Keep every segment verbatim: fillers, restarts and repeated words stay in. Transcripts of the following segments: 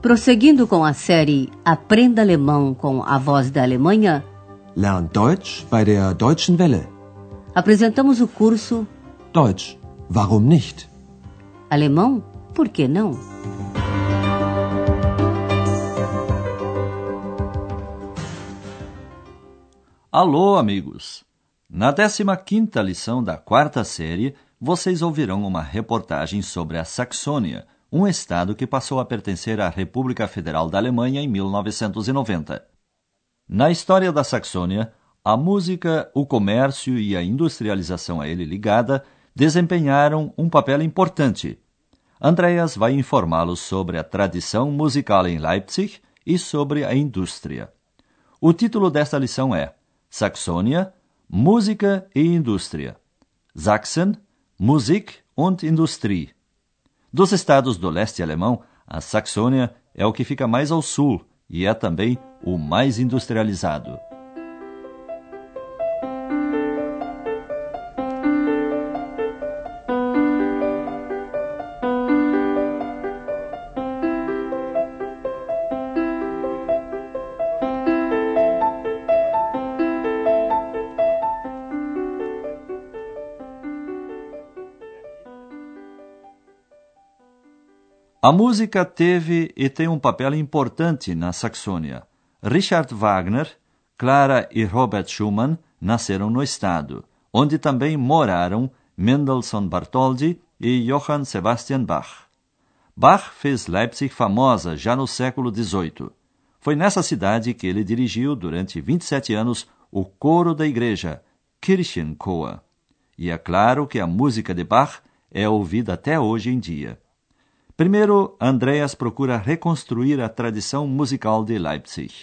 Prosseguindo com a série Aprenda Alemão com a Voz da Alemanha, Lern Deutsch bei der Deutschen Welle. Apresentamos o curso Deutsch, warum nicht? Alemão, por que não? Alô, amigos! Na décima quinta lição da quarta série, vocês ouvirão uma reportagem sobre a Saxônia, um estado que passou a pertencer à República Federal da Alemanha em mil novecentos e noventa. Na história da Saxônia, a música, o comércio e a industrialização a ele ligada desempenharam um papel importante. Andreas vai informá-los sobre a tradição musical em Leipzig e sobre a indústria. O título desta lição é Saxônia, Música e Indústria. Sachsen, Musik und Industrie. Dos estados do leste alemão, a Saxônia é o que fica mais ao sul e é também o mais industrializado. A música teve e tem um papel importante na Saxônia. Richard Wagner, Clara e Robert Schumann nasceram no estado, onde também moraram Mendelssohn Bartholdy e Johann Sebastian Bach. Bach fez Leipzig famosa já no século dezoito. Foi nessa cidade que ele dirigiu durante vinte e sete anos o coro da igreja, Kirchenchor. E é claro que a música de Bach é ouvida até hoje em dia. Primeiro, Andreas procura reconstruir a tradição musical de Leipzig.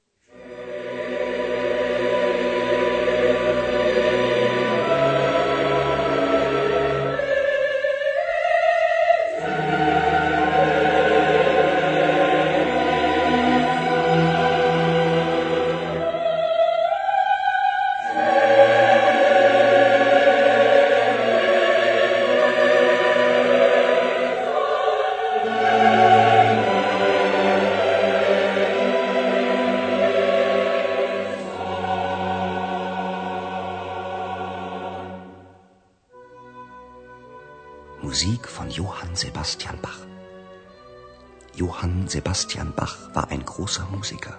Musik von Johann Sebastian Bach. Johann Sebastian Bach war ein großer Musiker.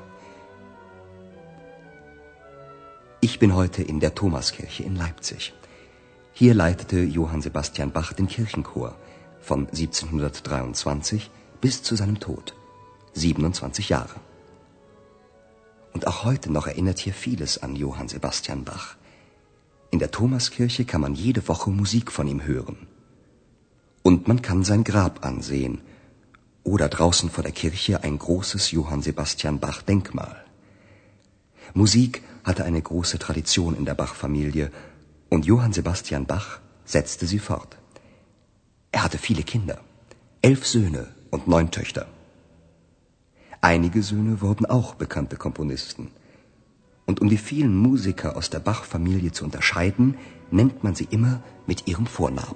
Ich bin heute in der Thomaskirche in Leipzig. Hier leitete Johann Sebastian Bach den Kirchenchor von siebzehnhundertdreiundzwanzig bis zu seinem Tod, siebenundzwanzig Jahre. Und auch heute noch erinnert hier vieles an Johann Sebastian Bach. In der Thomaskirche kann man jede Woche Musik von ihm hören. Und man kann sein Grab ansehen oder draußen vor der Kirche ein großes Johann Sebastian Bach Denkmal. Musik hatte eine große Tradition in der Bach-Familie und Johann Sebastian Bach setzte sie fort. Er hatte viele Kinder, elf Söhne und neun Töchter. Einige Söhne wurden auch bekannte Komponisten. Und um die vielen Musiker aus der Bach-Familie zu unterscheiden, nennt man sie immer mit ihrem Vornamen.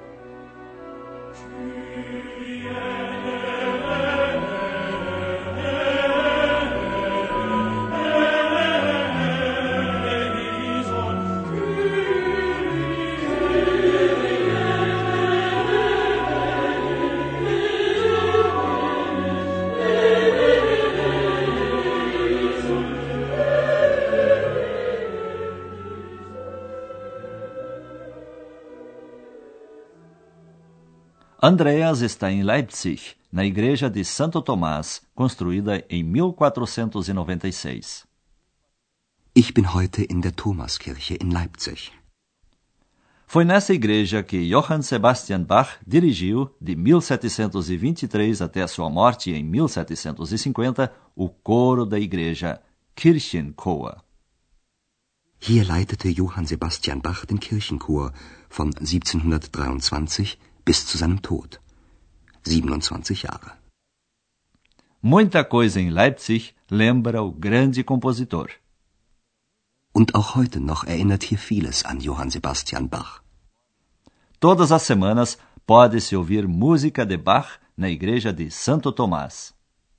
Andreas está em Leipzig, na igreja de Santo Tomás, construída em mil quatrocentos e noventa e seis. Ich bin heute in der Thomaskirche in Leipzig. Foi nessa igreja que Johann Sebastian Bach dirigiu, de mil setecentos e vinte e três até a sua morte em mil setecentos e cinquenta, o coro da igreja, Kirchenchor. Hier leitete Johann Sebastian Bach den Kirchenchor von siebzehnhundertdreiundzwanzig bis zu seinem Tod, siebenundzwanzig Jahre. Muita coisa em Leipzig lembra o grande compositor. Und auch heute noch erinnert hier vieles an Johann Sebastian Bach. Todas as semanas pode-se ouvir música de Bach na igreja de Santo Tomás.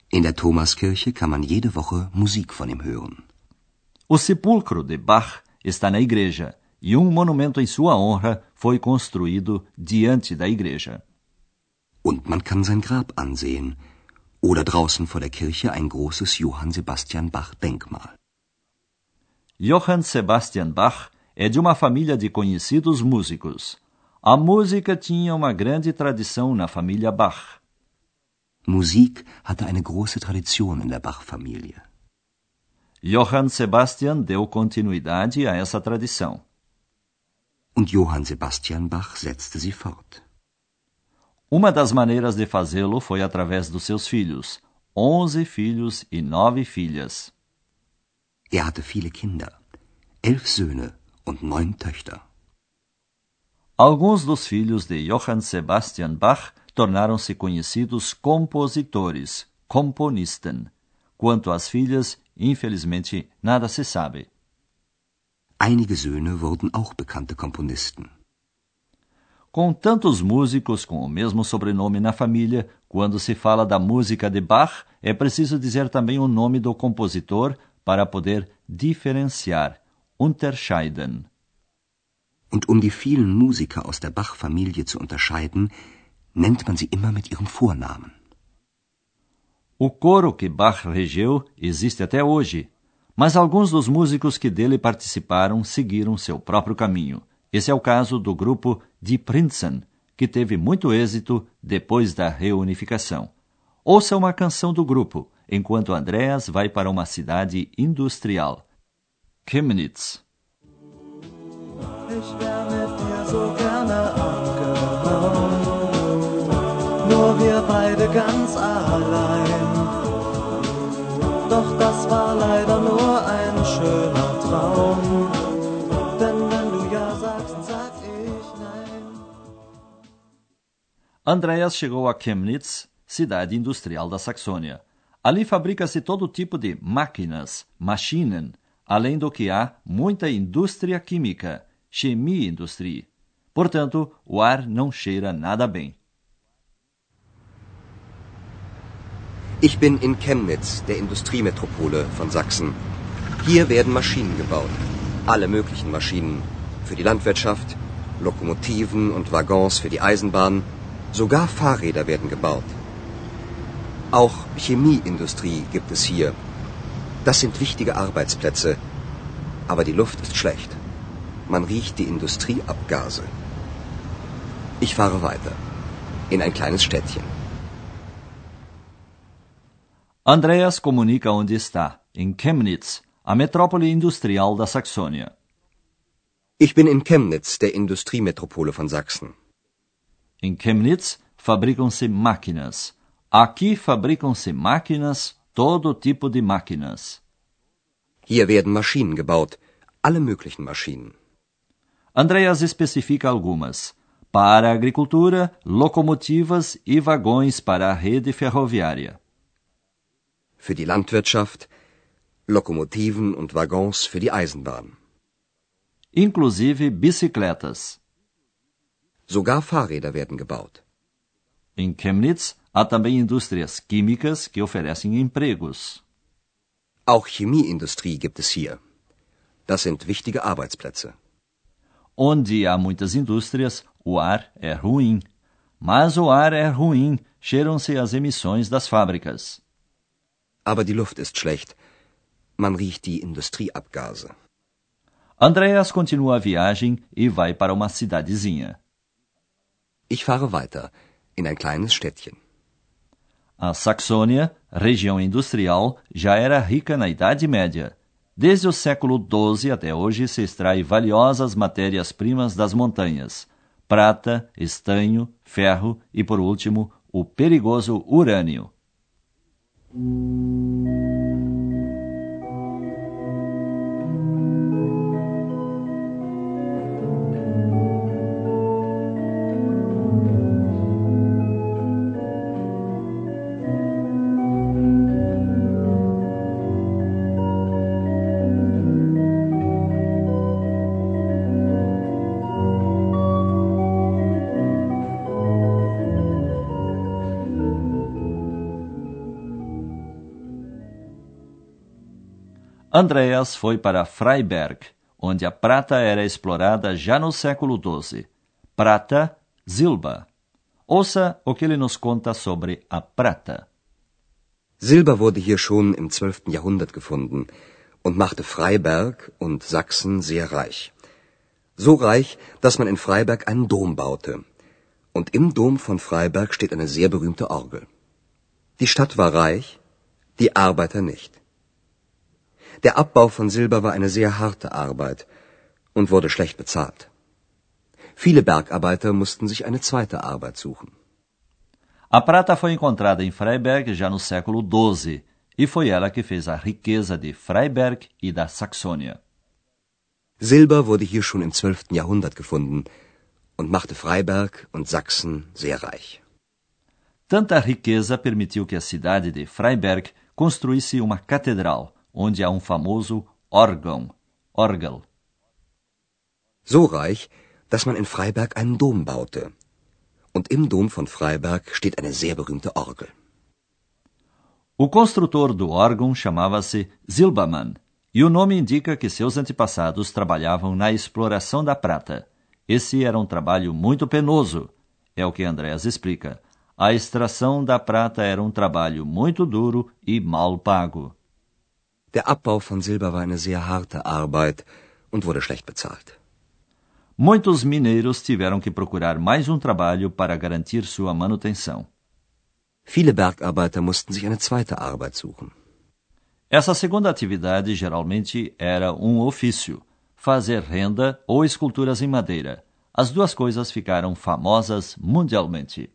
In der Thomaskirche kann man jede Woche Musik von ihm hören. O sepulcro de Bach está na igreja e um monumento em sua honra foi construído diante da igreja. Und man kann sein Grab ansehen oder draußen vor der Kirche ein großes Johann Sebastian Bach Denkmal. Johann Sebastian Bach é de uma família de conhecidos músicos. A música tinha uma grande tradição na família Bach. Musik hatte eine große Tradition in der Bach-Familie. Johann Sebastian deu continuidade a essa tradição. Und Johann Sebastian Bach setzte sie fort. Uma das maneiras de fazê-lo foi através dos seus filhos, onze filhos e nove filhas. Er hatte viele Kinder, elf Söhne und neun Töchter. Alguns dos filhos de Johann Sebastian Bach tornaram-se conhecidos compositores, Komponisten. Quanto às filhas, infelizmente, nada se sabe. Einige Söhne wurden auch bekannte Komponisten. Com tantos músicos com o mesmo sobrenome na família, quando se fala da música de Bach, é preciso dizer também o nome do compositor para poder diferenciar, unterscheiden. Und um die vielen Musiker aus der Bach-Familie zu unterscheiden, nennt man sie immer mit ihrem Vornamen. O coro que Bach regeu existe até hoje, mas alguns dos músicos que dele participaram seguiram seu próprio caminho. Esse é o caso do grupo Die Prinzen, que teve muito êxito depois da reunificação. Ouça uma canção do grupo, enquanto Andreas vai para uma cidade industrial. Chemnitz. Ich wär mit dir so gerne abgehauen, nur wir beide ganz allein. Doch das war leider nur ein schöner Traum, denn wenn du ja sagst, sag ich nein. Andreas chegou a Chemnitz, cidade industrial da Saxônia. Ali fabrica-se todo tipo de máquinas, Maschinen, além do que há muita indústria química, Chemieindustrie. Portanto, o ar não cheira nada bem. Ich bin in Chemnitz, der Industriemetropole von Sachsen. Hier werden Maschinen gebaut. Alle möglichen Maschinen. Für die Landwirtschaft, Lokomotiven und Waggons für die Eisenbahn. Sogar Fahrräder werden gebaut. Auch Chemieindustrie gibt es hier. Das sind wichtige Arbeitsplätze. Aber die Luft ist schlecht. Man riecht die Industrieabgase. Ich fahre weiter. In ein kleines Städtchen. Andreas comunica onde está, em Chemnitz, a metrópole industrial da Saxônia. Ich bin in Chemnitz, der Industriemetropole von Sachsen. Em Chemnitz fabricam-se máquinas. Aqui fabricam-se máquinas, todo tipo de máquinas. Hier werden Maschinen gebaut, alle möglichen Maschinen. Andreas especifica algumas. Para a agricultura, locomotivas e vagões para a rede ferroviária. Für die Landwirtschaft, Lokomotiven und Waggons für die Eisenbahn. Inclusive bicicletas. Sogar Fahrräder werden gebaut. Em Chemnitz, há também indústrias químicas que oferecem empregos. Auch Chemieindustrie gibt es hier. Das sind wichtige Arbeitsplätze. Onde há muitas indústrias, o ar é ruim. Mas o ar é ruim, cheiram-se as emissões das fábricas. Aber die Luft ist schlecht. Man riecht die Industrieabgase. Andreas continua a viagem e vai para uma cidadezinha. Ich fahre weiter, in ein kleines Städtchen. A Saxônia, região industrial, já era rica na Idade Média. Desde o século doze até hoje se extrai valiosas matérias-primas das montanhas: prata, estanho, ferro e, por último, o perigoso urânio. Andreas foi para Freiberg, onde a prata era explorada já no século doze. Prata, Silber. Ouça o que ele nos conta sobre a prata. Silber wurde hier schon im zwölften Jahrhundert gefunden und machte Freiberg und Sachsen sehr reich. So reich, dass man in Freiberg einen Dom baute. Und im Dom von Freiberg steht eine sehr berühmte Orgel. Die Stadt war reich, die Arbeiter nicht. Der Abbau von Silber war eine sehr harte Arbeit und wurde schlecht bezahlt. Viele Bergarbeiter mussten sich eine zweite Arbeit suchen. A prata foi encontrada em Freiberg já no século doze, e foi ela que fez a riqueza de Freiberg e da Saxônia. Silber wurde hier schon im zwölften Jahrhundert gefunden und machte Freiberg und Sachsen sehr reich. Tanta riqueza permitiu que a cidade de Freiberg construísse uma catedral, onde há um famoso órgão, Orgel. So reich, dass man in Freiberg einen Dom baute. Und im Dom von Freiberg steht eine sehr berühmte Orgel. O construtor do órgão chamava-se Silbermann, e o nome indica que seus antepassados trabalhavam na exploração da prata. Esse era um trabalho muito penoso, é o que Andreas explica. A extração da prata era um trabalho muito duro e mal pago. Der Abbau von Silber war eine sehr harte Arbeit und wurde schlecht bezahlt. Muitos mineiros tiveram que procurar mais um trabalho para garantir sua manutenção. Viele Bergarbeiter mussten sich eine zweite Arbeit suchen. Essa segunda atividade geralmente era um ofício, fazer renda ou esculturas em madeira. As duas coisas ficaram famosas mundialmente.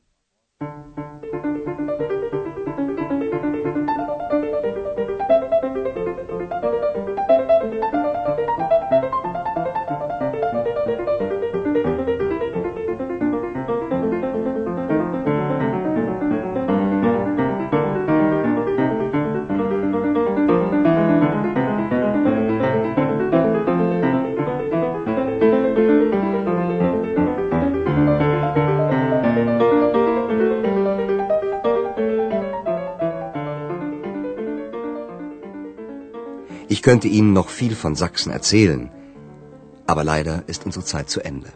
Ich könnte Ihnen noch viel von Sachsen erzählen, aber leider ist unsere Zeit zu Ende.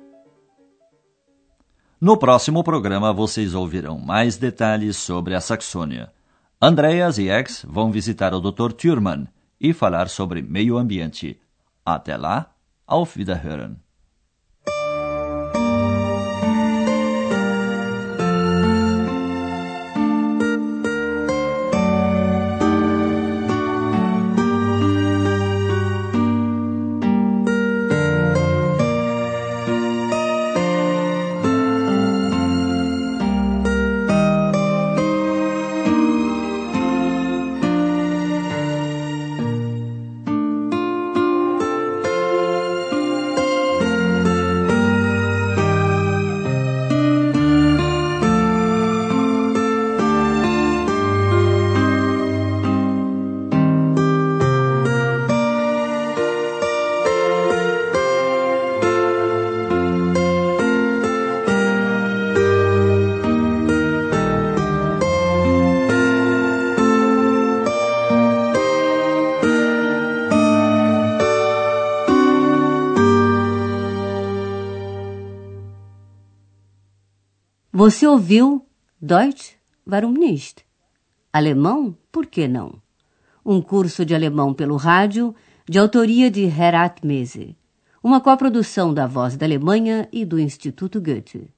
No próximo programa vocês ouvirão mais detalhes sobre a Saxônia. Andreas e Ex vão visitar o doutor Thürmann e falar sobre meio ambiente. Até lá, auf Wiederhören! Você ouviu Deutsch, warum nicht? Alemão, por que não? Um curso de alemão pelo rádio, de autoria de Herat Mese. Uma coprodução da Voz da Alemanha e do Instituto Goethe.